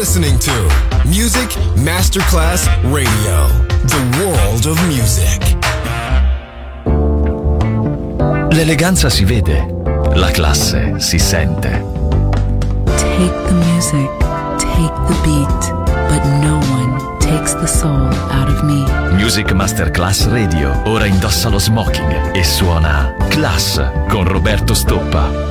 listening to Music Masterclass Radio, the world of music. L'eleganza si vede, la classe si sente. Take the music, take the beat, but no one takes the soul out of me. Music Masterclass Radio ora indossa lo smoking e suona Class con Roberto Stoppa.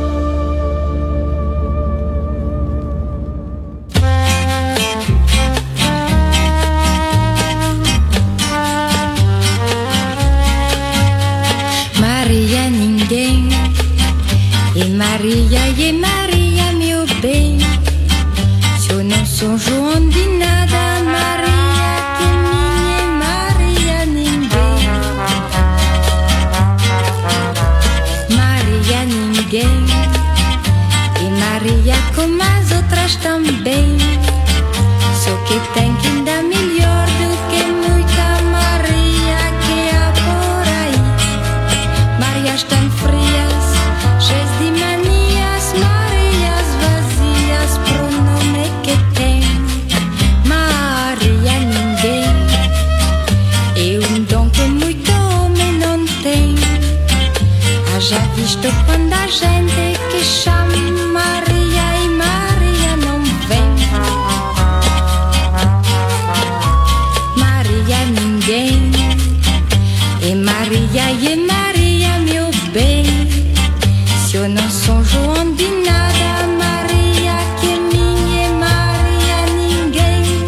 Maria ninguém, e Maria meu bem. Se eu não sou João de nada, Maria que minha e Maria ninguém. Maria ninguém, e Maria como as outras também. Só que tem que dar melhor do que muita Maria que há por aí. Marias tão frias, cheias de manias, Marias vazias pro nome que tem. Maria ninguém, é dom que muito homem não tem. Haja visto quando a gente que chama Maria e Maria não vem. Maria ninguém, e Maria meu bem. Se eu não sou João de nada, Maria que é minha e Maria ninguém.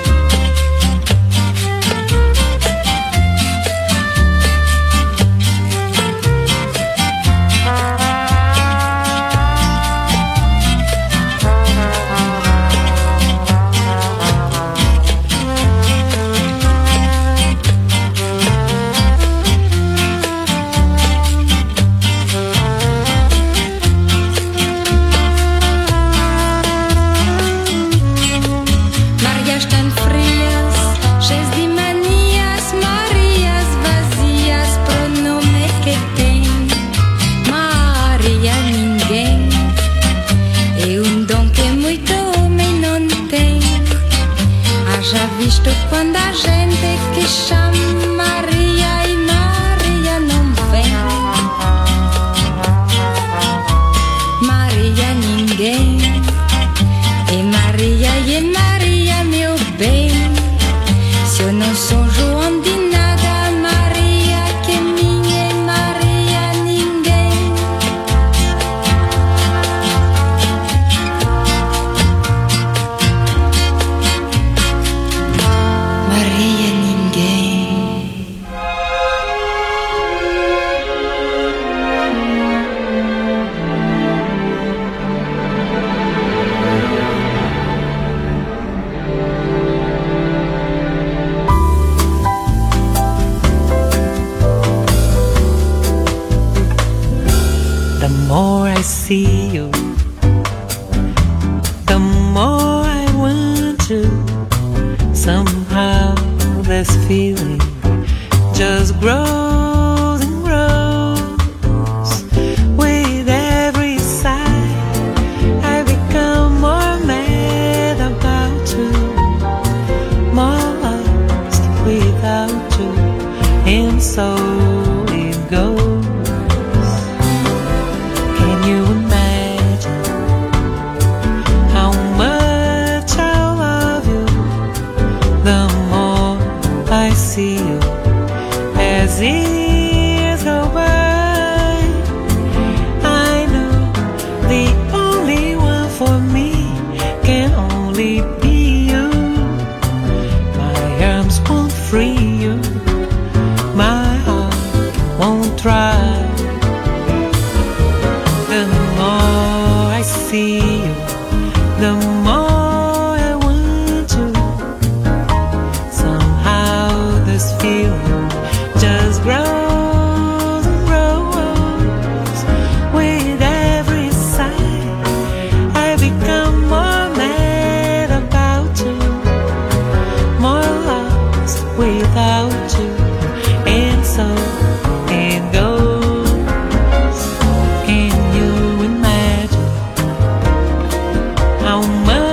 Marias tão frias, cheias de manias, Marias vazias pro nome que tem. Maria ninguém, é dom que muito homem não tem. Haja visto quando a gente que chama Maria e Maria não vem. Maria ninguém, e Maria meu bem. Se eu não sou João de nada, Maria que é minha e Maria ninguém. Maria ninguém. The more I see you, the more I want to. Somehow this feeling just grows and grows. With every sigh, I become more mad about you, more lost without you, and so it goes. Can you imagine how much I love you? The more I see you as years go by, I know the only one for me can only be you. My arms won't free you, my heart won't try. The more I see you, the more I want you. Somehow this feeling just grows and grows. With every sigh, I become more mad about you, more lost without you, and so it goes. Can you imagine how much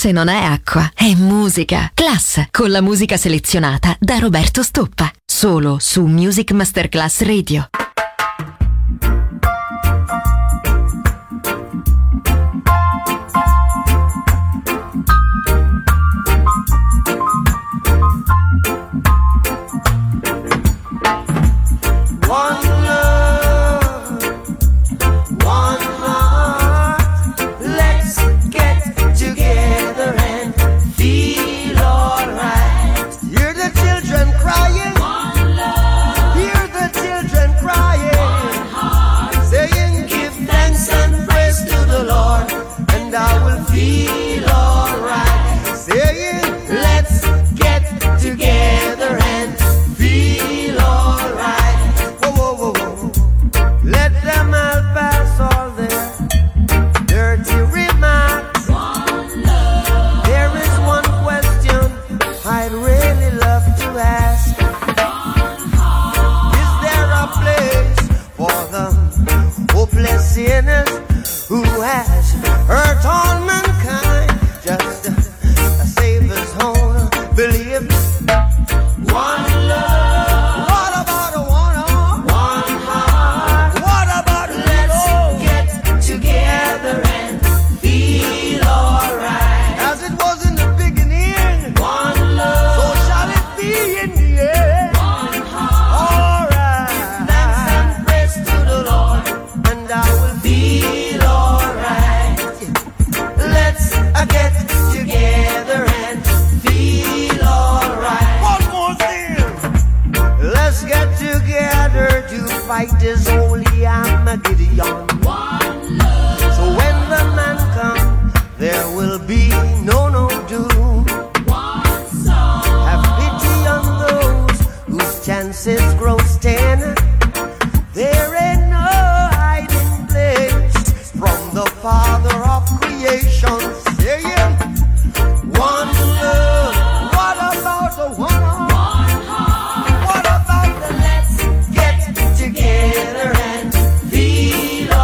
Class non è acqua, è musica. Class, con la musica selezionata da Roberto Stoppa. Solo su Music Masterclass Radio. Let's get together and feel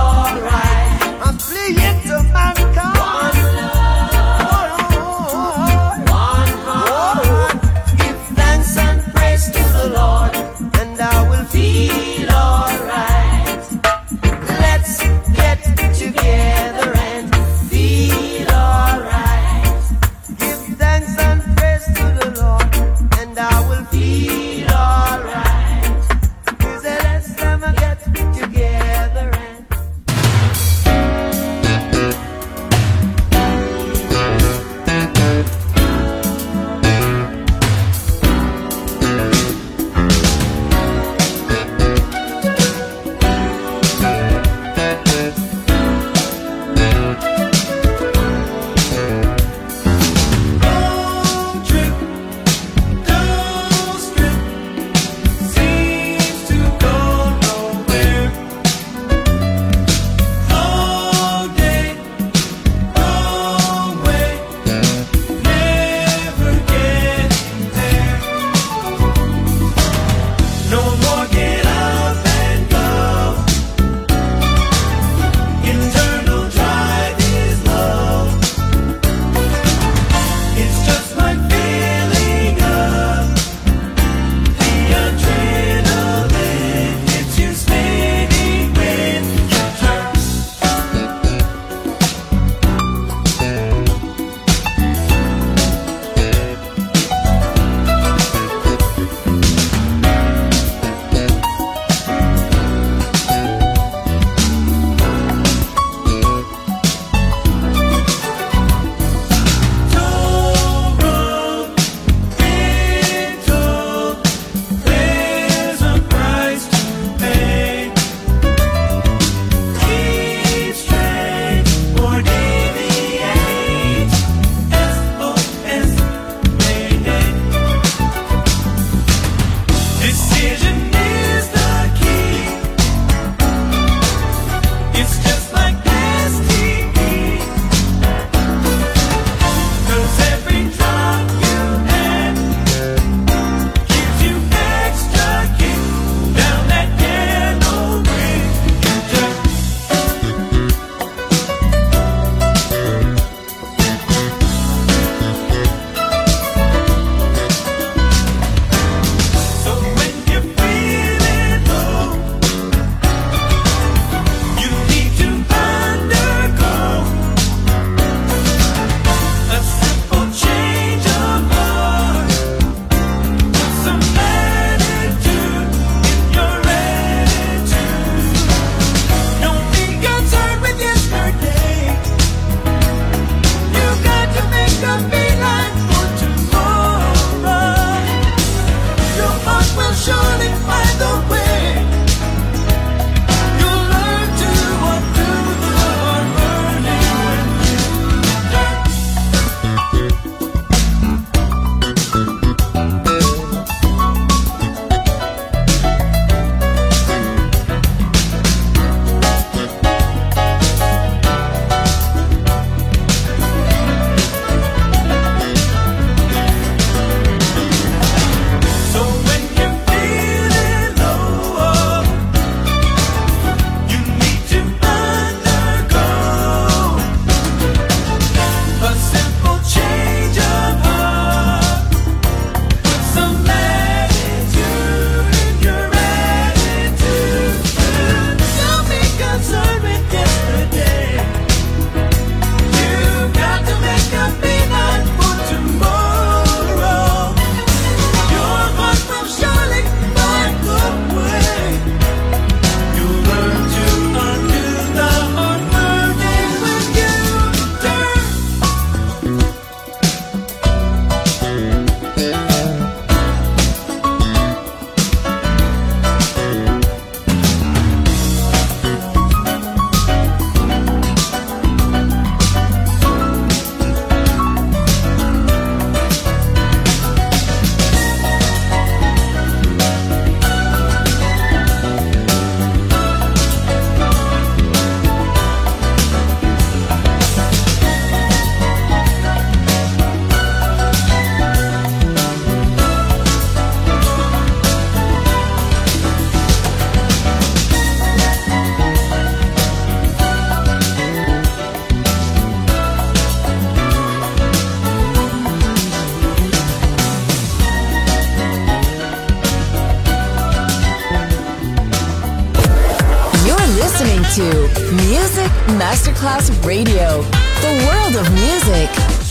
to Music Masterclass Radio, the world of music.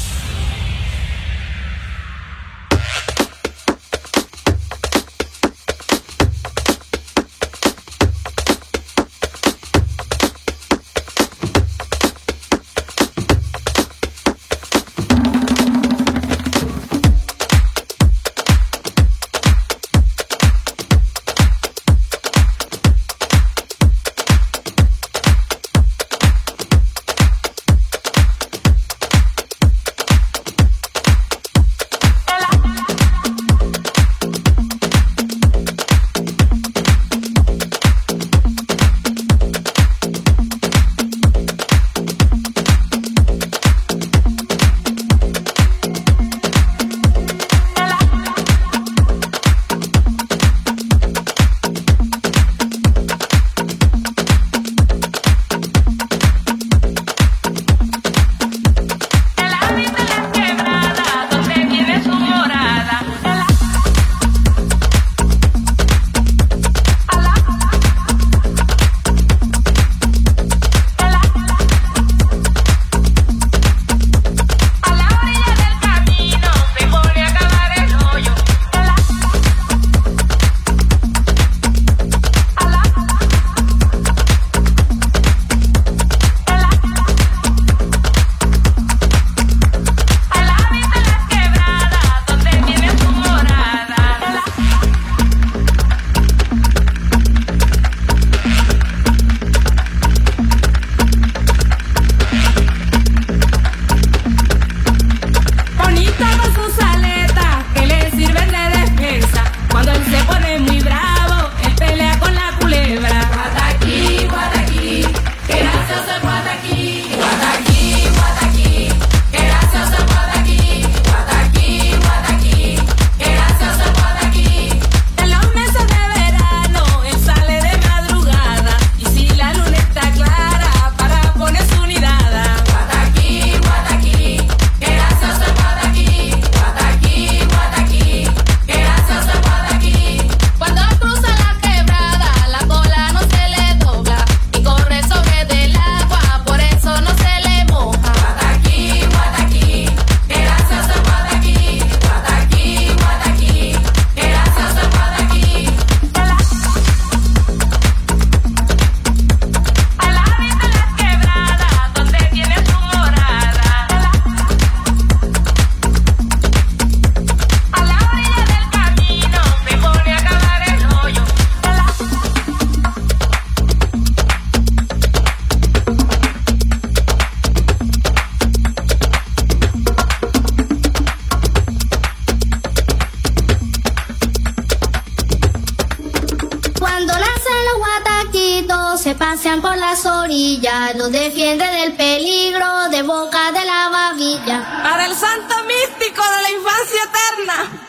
pasean por las orillas, los defiende del peligro de boca de la babilla. Para el santo místico de la infancia eterna.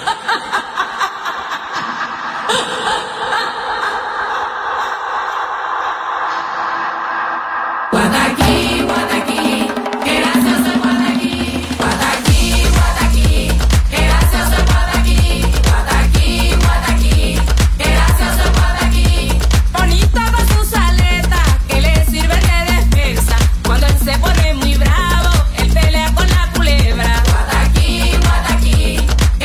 Guataquí, Guataquí, qué gracioso es Guataquí. Guataquí, Guataquí, qué gracioso es Guataquí. Guataquí, Guataquí, qué gracioso es Guataquí. Bonito con sus aletas que le sirven de defensa. Cuando él se pone muy bravo, él pelea con la culebra. Guataquí, Guataquí,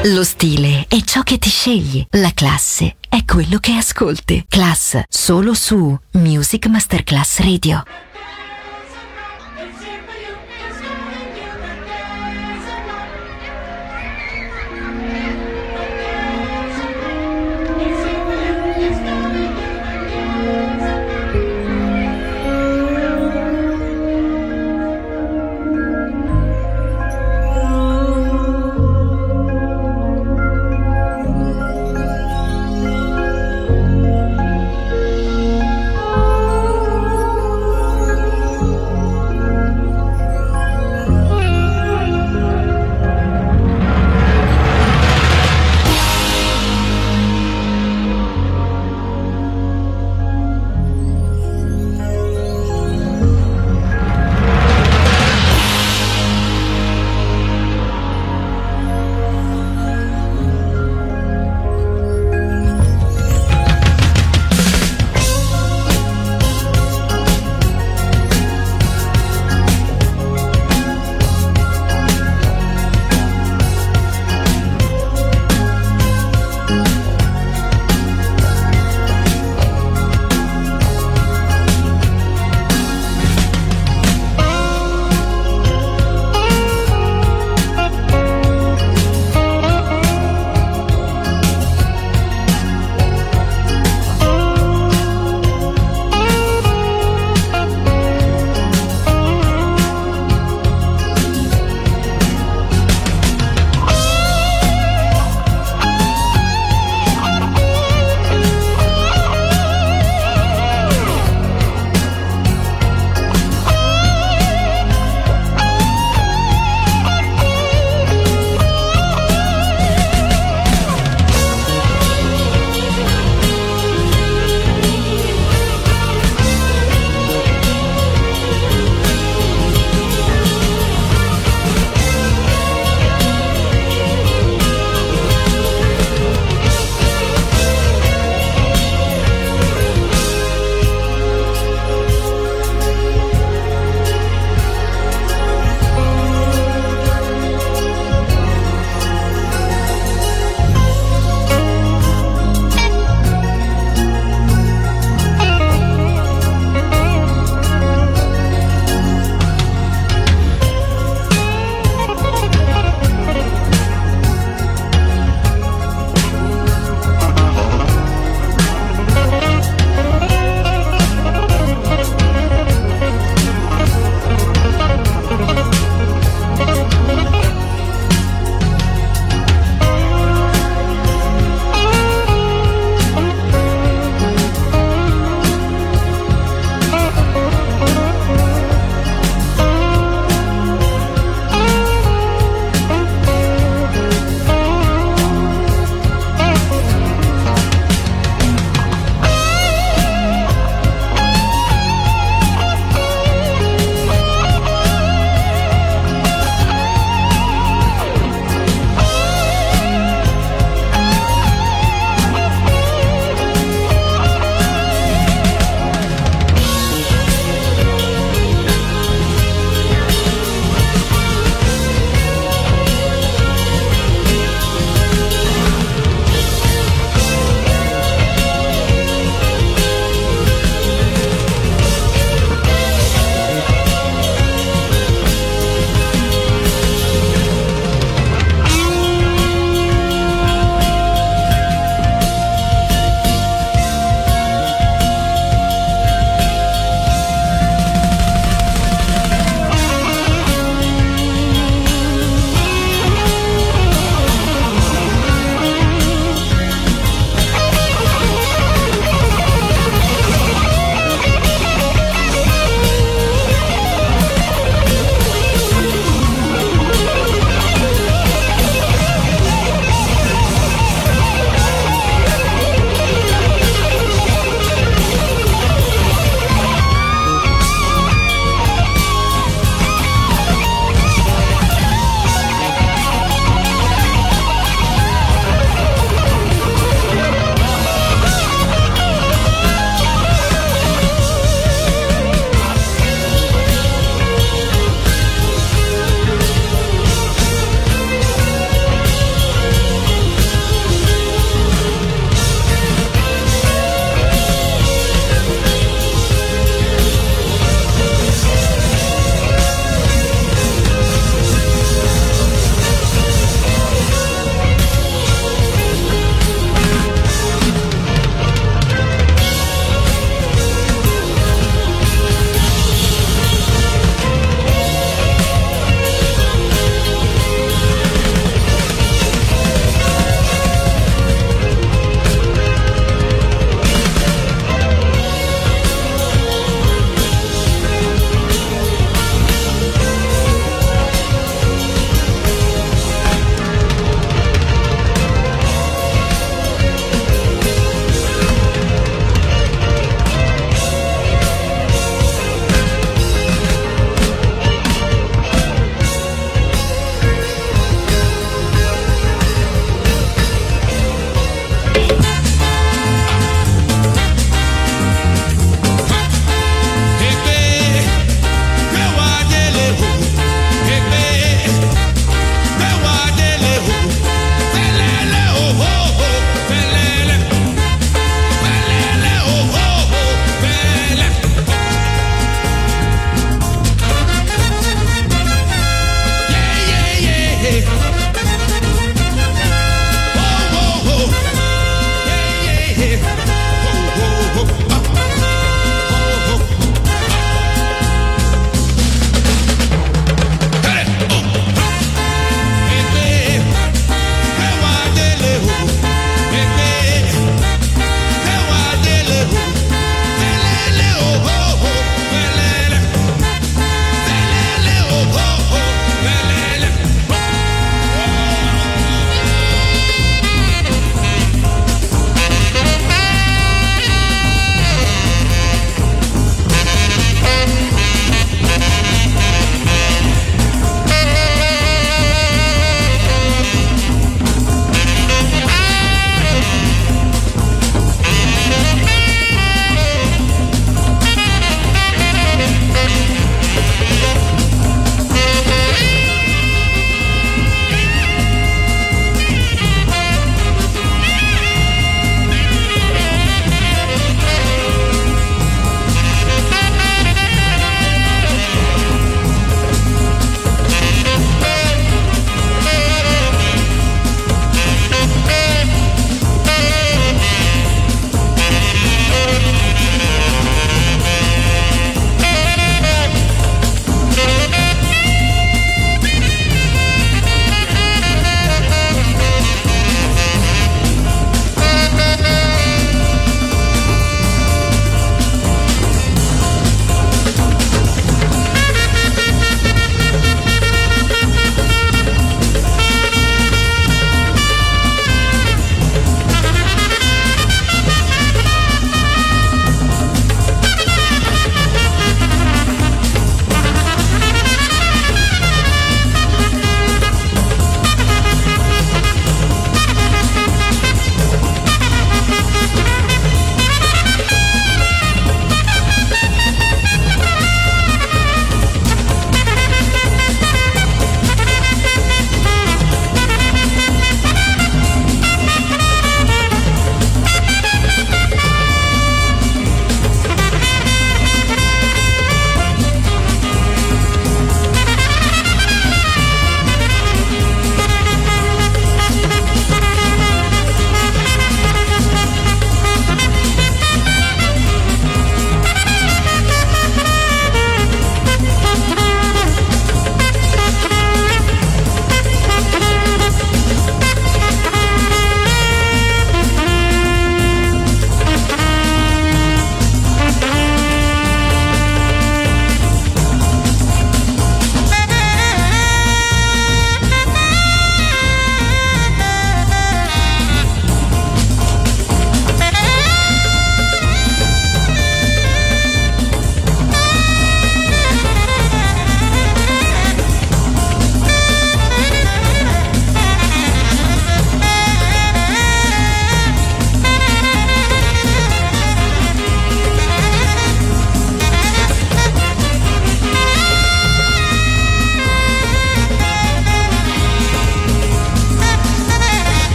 Lo stile è ciò che ti scegli, la classe è quello che ascolti. Class, solo su Music Masterclass Radio.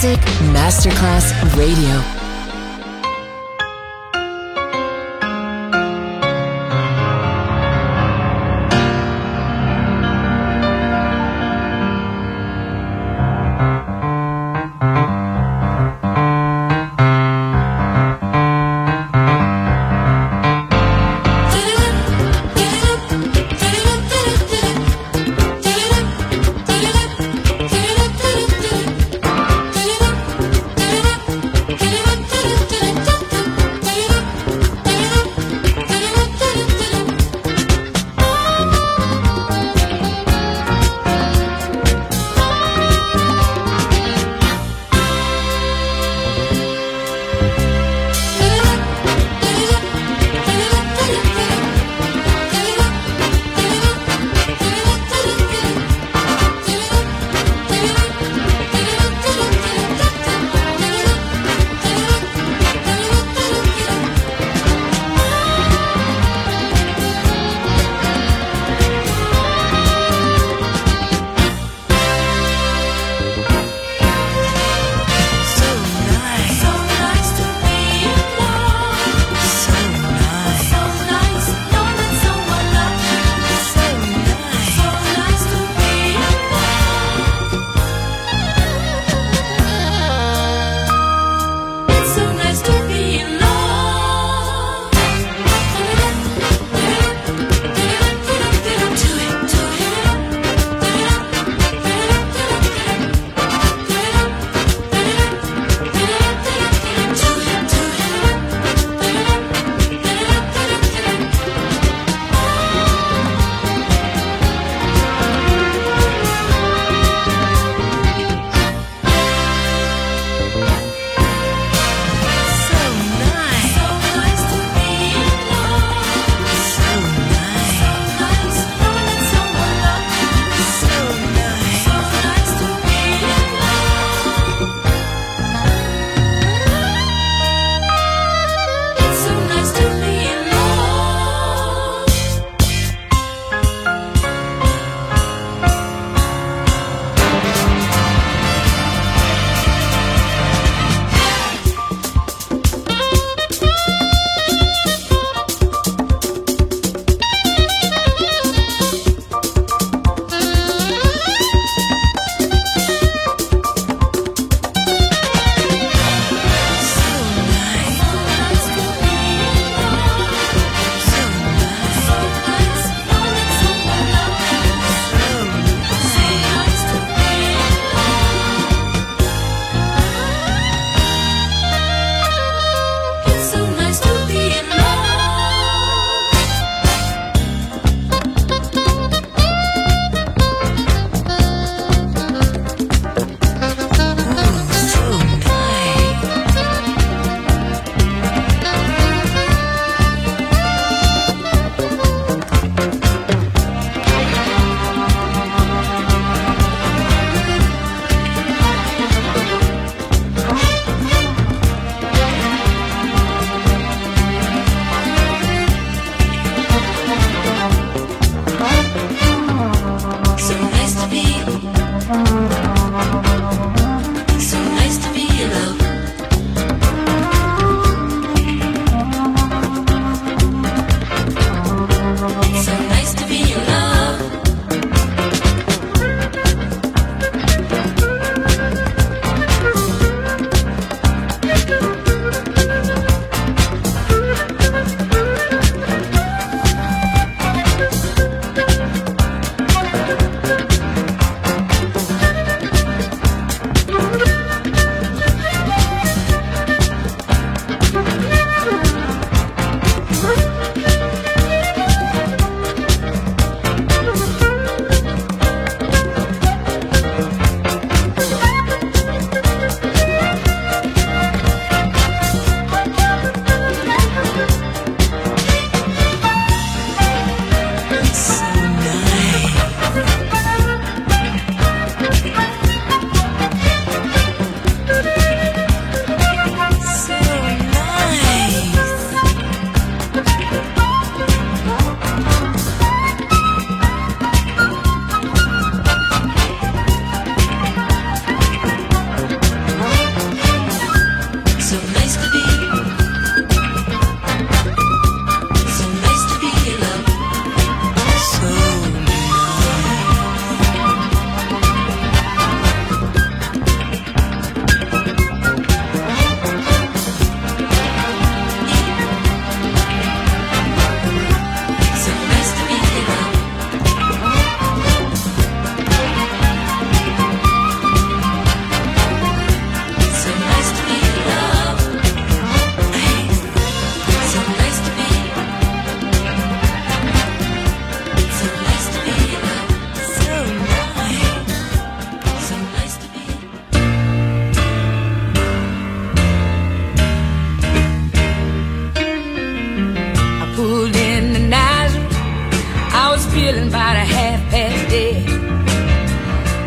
Music Masterclass Radio. Give it up.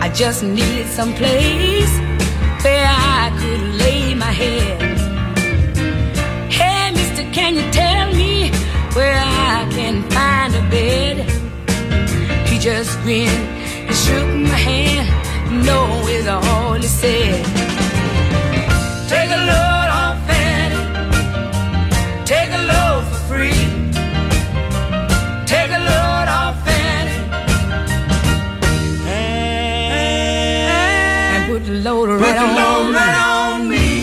I just needed some place where I could lay my head. Hey, mister, can you tell me where I can find a bed? He just grinned and shook my hand. No is all he said. Take a load off Fanny, take a load for free. Take a load off Fanny and put the load right on me.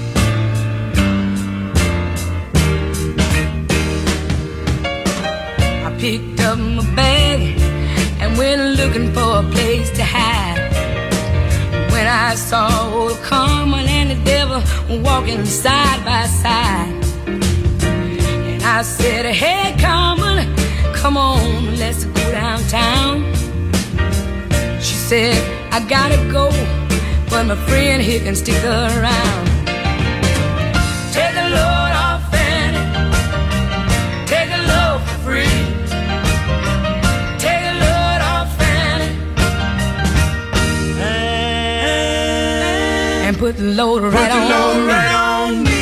I picked up my bag and went looking for a place to hide. When I saw old Carmen and the devil walking side by side, and I said, hey Carmen, come on, let's go downtown. She said, I gotta go, but my friend here can stick around. Take a load off Fanny, take a load for free. Take a load off Fanny and put the load right on me.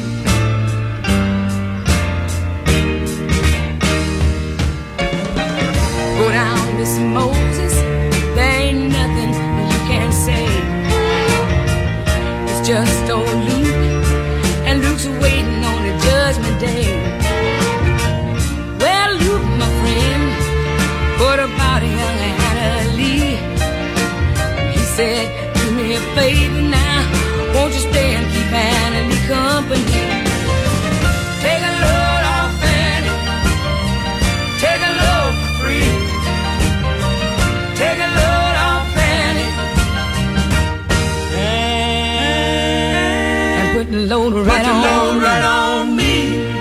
Go down, Miss Moses, there ain't nothing you can say. It's just old Luke, and Luke's waiting on the judgment day. Well, Luke, my friend, what about young Anna Lee? He said, do me a favor now, won't you stay and keep Anna Lee company? Take a load off Fanny, take a load for free. Take a load off Fanny and put the load right on me.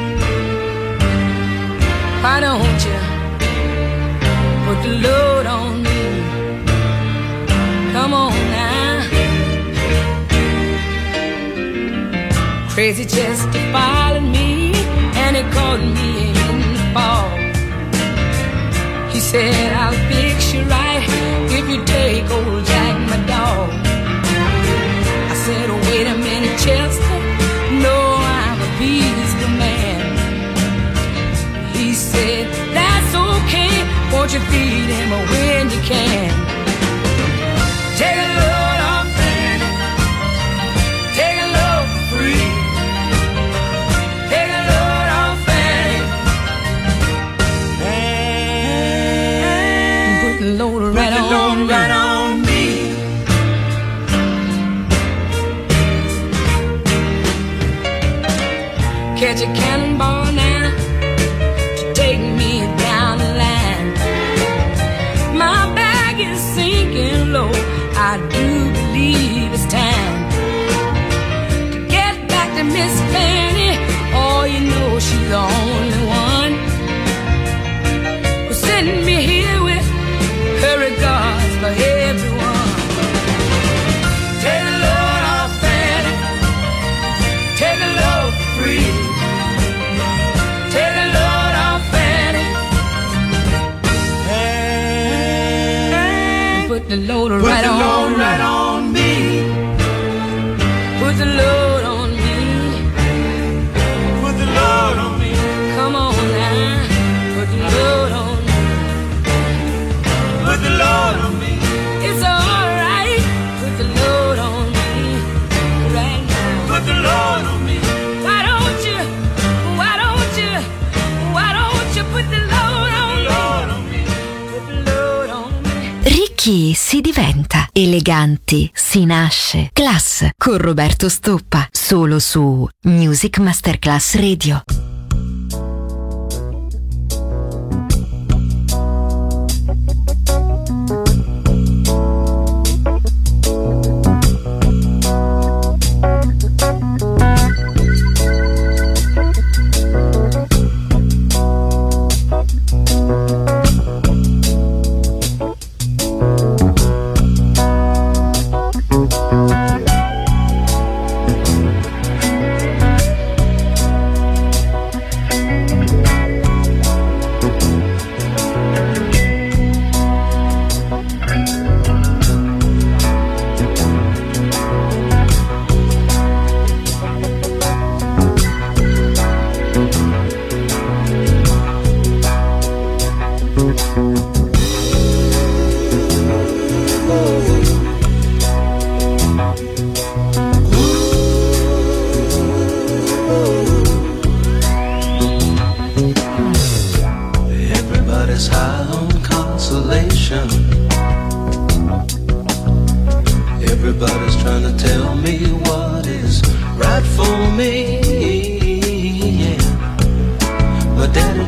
Why don't you put the load on me? Come on now. Crazy Chester followed me and he caught me in the fall. He said, I'll fix you right if you take old Jack, my dog. I said, oh, wait a minute, Chester, no, I'm a peaceful man. He said, that's okay, won't you feed him when you can? Take a load off Fanny, take a load for free. Take a load off Fanny and put the load right on me. Catch a cannonball now to take me down the line. My bag is sinking low, I do believe it's time to get back to Miss Fanny. Oh, you know she's the only one who's sending me here with her regards for everyone. Take a load off Fanny, take a load for free. Take a load off Fanny and put the load right on me. Put the load on me. Put the load on me. Come on now. Put the load on me. Put the load on me. It's alright. Put the load on me right now. Put the load on me. Why don't you put the load on me? Put the load on me. Ricchi si diventa, eleganti si nasce. Class con Roberto Stoppa, solo su Music Masterclass Radio.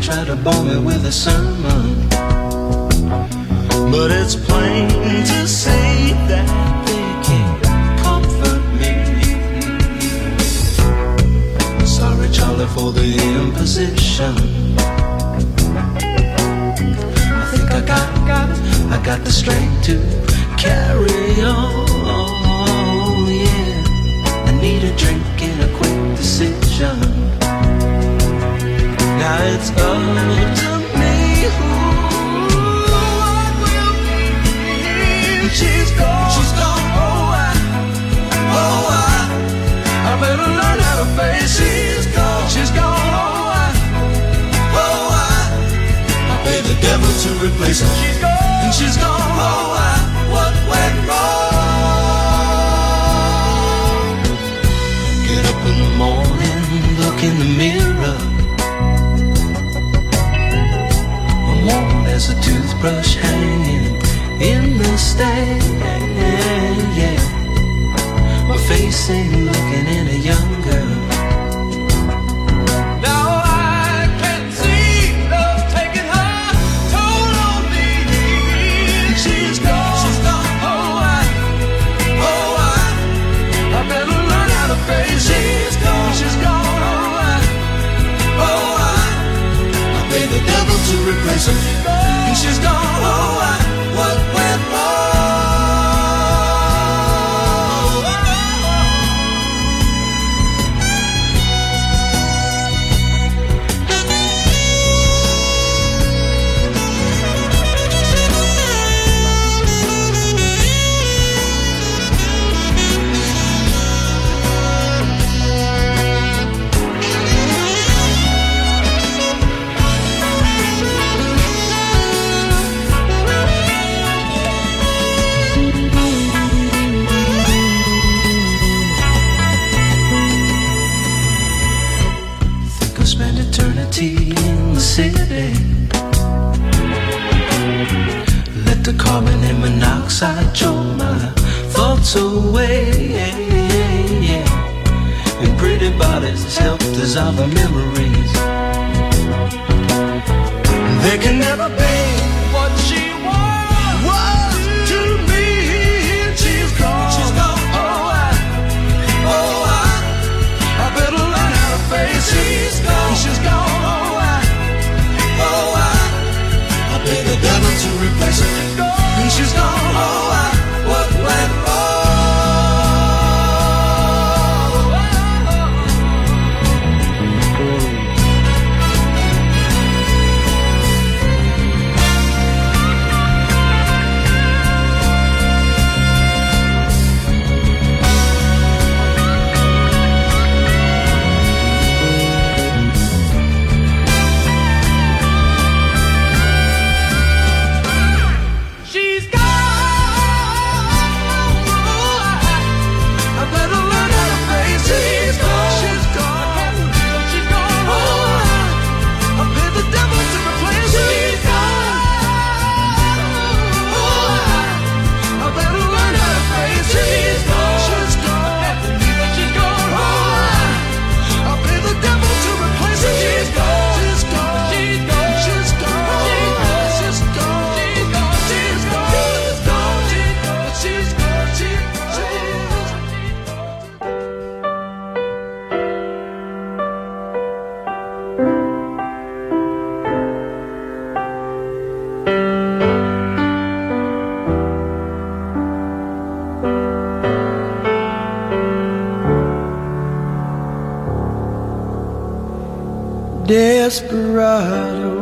try to bore me with a sermon, but it's plain to see that they can't comfort me. Sorry, Charlie, for the imposition. I think I got the strength to carry on, yeah. I need a drink and a quick decision. Now it's up to me. What will be? She's gone. I better learn how to face. She's gone. I pay the devil to replace her. And she's gone. What went wrong? Get up in the morning, look in the mirror. I'm worn as a toothbrush hanging in the stand, yeah. My face ain't looking any younger. Now I can see love taking her toll on me. She's gone. I better learn how to face. She's gone. I pay the devil to replace her. And she's gone. What went wrong? In the city, let the carbon and monoxide choke my thoughts away, and pretty bodies help dissolve the memories. There can never be what she was to me. She's gone. I better learn how to face it. She's gone. I pay the devil to replace her. And she's gone. What went Desperado,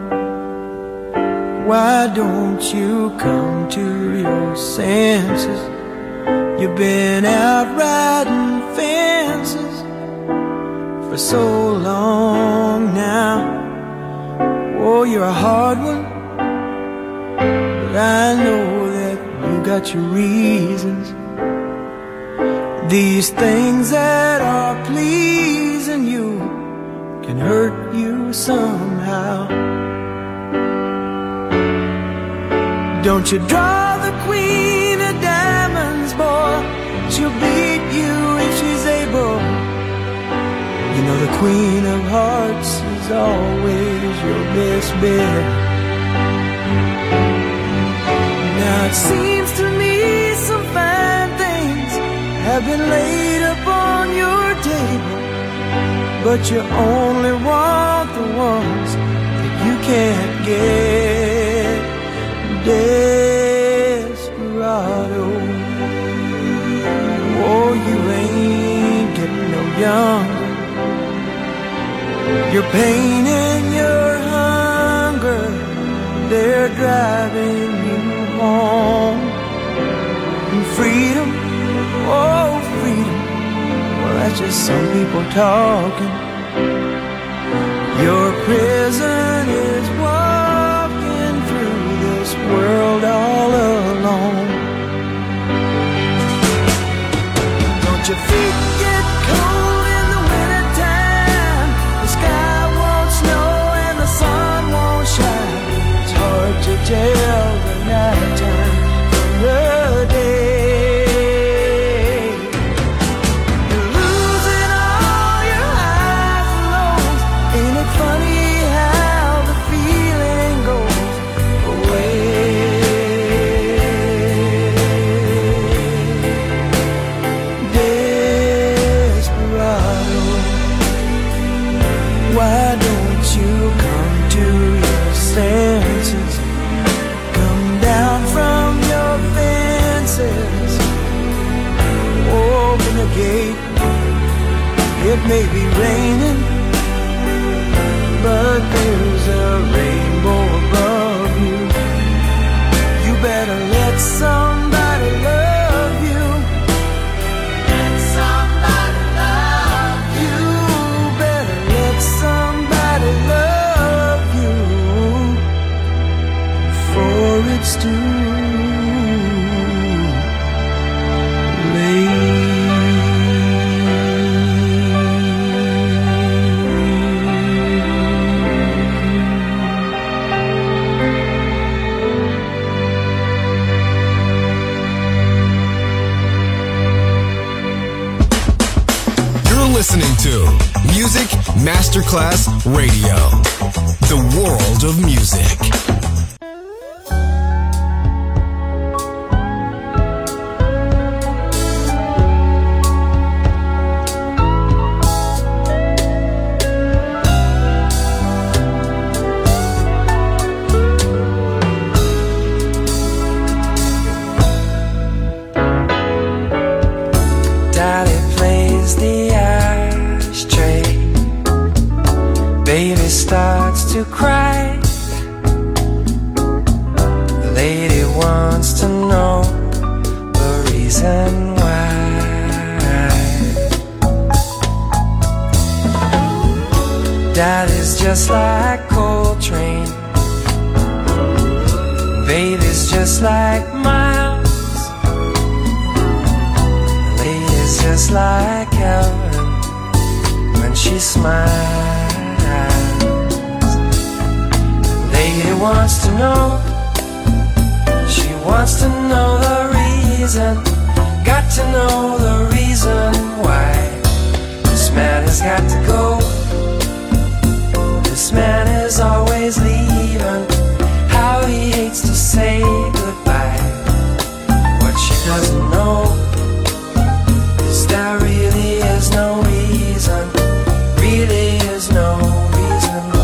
why don't you come to your senses? You've been out riding fences for so long now. Oh, you're a hard one, but I know that you got your reasons. These things that are pleasing you can hurt you somehow. Don't you draw the queen of diamonds, boy. She'll beat you if she's able. You know the the Queen of Hearts is always your best bet. Now it seems to me some fine things have been laid upon your table, but you only want the ones that you can't get. Desperado, oh, you ain't getting no younger. Your pain and your hunger, they're driving you home. And freedom, oh freedom, well that's just some people talking. Your prison is walking through this world all alone. Don't your feet get cold in the wintertime? The sky won't snow and the sun won't shine. It's hard to tell the night time from the day. You're losing all your highs and lows. Ain't it funny how the feeling goes away? Desperado, why don't you come to your senses? Come down from your fences. Open the gate. It may be raining, but there's a rainbow above you. You better let somebody love you. Let somebody love you. Better let somebody love you before it's too late. You're listening to Music Masterclass Radio, the world of music. Daddy plays the ashtray. Baby starts to cry. The lady wants to know the reason why. Daddy's just like Coltrane. Baby's just like Miles. Lady's just like Ellen when she smiles. Lady wants to know, she wants to know the reason. Got to know the reason why this man has got to go. This man is always leaving. How he hates to say goodbye. What she doesn't know is there really is no reason. Really is no reason why.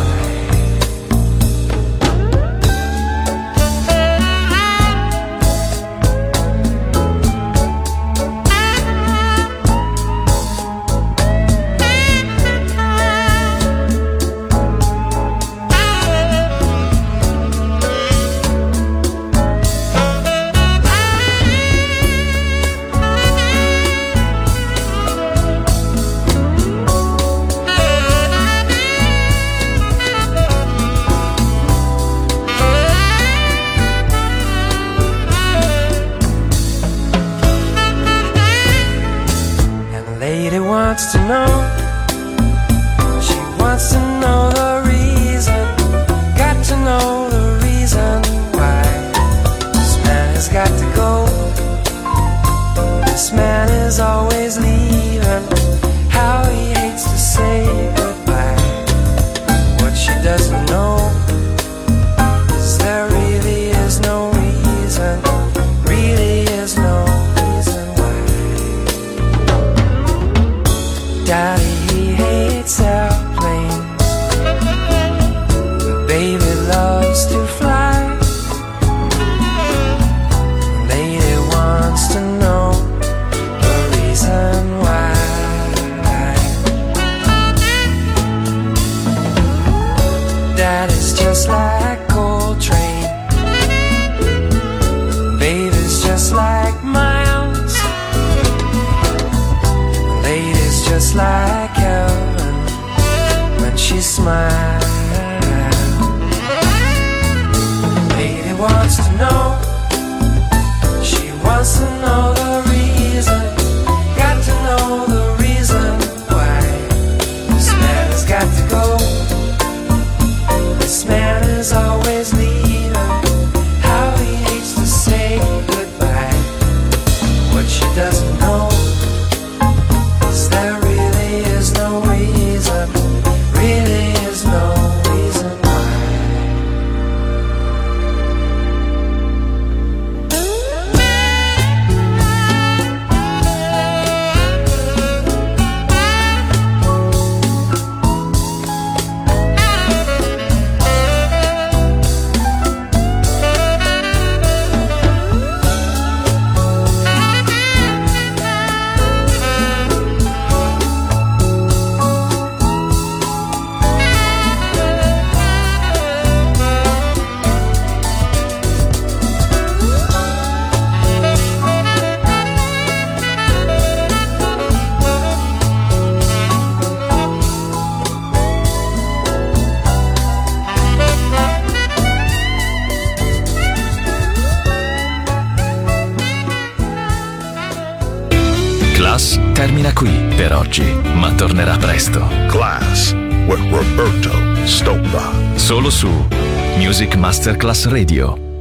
Daddy's just like Coltrane. Baby's just like Miles. Lady's just like heaven when she smiles. Lady wants to know, she wants to know the reason. Got to know the reason why this man has got to go. This man is always leaving. How he hates to say goodbye. What she doesn't know is there really is no reason. Really is no reason Class termina qui per oggi, ma tornerà presto. Class with Roberto Stoppa. Solo su Music Masterclass Radio.